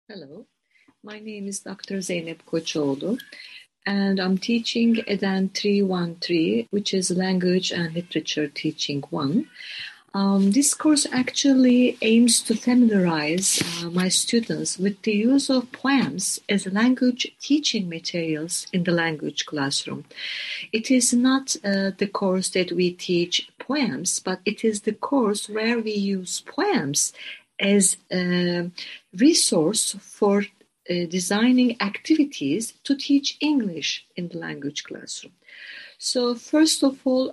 Hello, my name is Dr. Zeynep Koçoğlu, and I'm teaching EDEN 313, which is Language and Literature Teaching 1. This course actually aims to familiarize my students with the use of poems as language teaching materials in the language classroom. It is not the course that we teach poems, but it is the course where we use poems as a resource for designing activities to teach English in the language classroom. So first of all,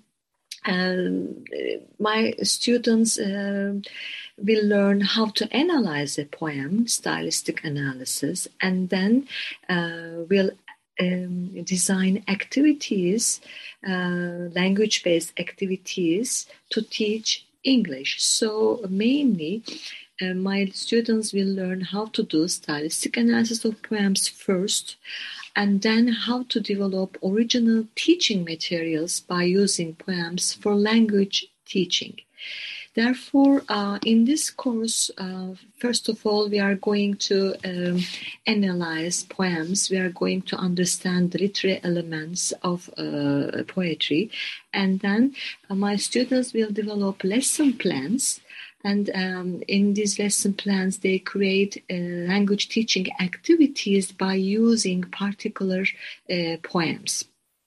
my students will learn how to analyze a poem, stylistic analysis, and then will design activities, language-based activities to teach English. So mainly, my students will learn how to do stylistic analysis of poems first, and then how to develop original teaching materials by using poems for language teaching. Therefore, in this course, first of all, we are going to analyze poems. We are going to understand the literary elements of poetry. And then my students will develop lesson plans. And in these lesson plans, they create language teaching activities by using particular poems.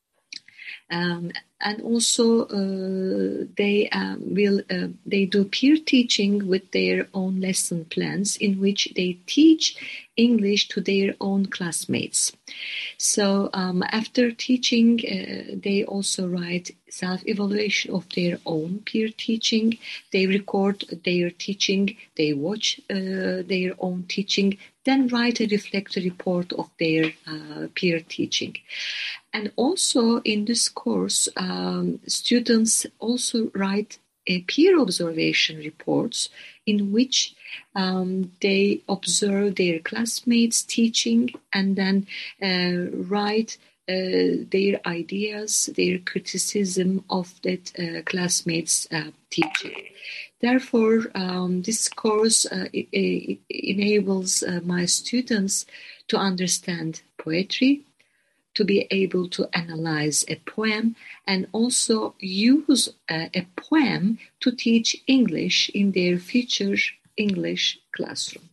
And also they do peer teaching with their own lesson plans in which they teach English to their own classmates. So after teaching, they also write self-evaluation of their own peer teaching. They record their teaching, they watch their own teaching, then write a reflective report of their peer teaching. And also in this course, students also write peer observation reports in which they observe their classmates teaching and then write their ideas, their criticism of that classmates' teaching. Therefore, this course enables my students to understand poetry, to be able to analyze a poem, and also use a poem to teach English in their future English classroom.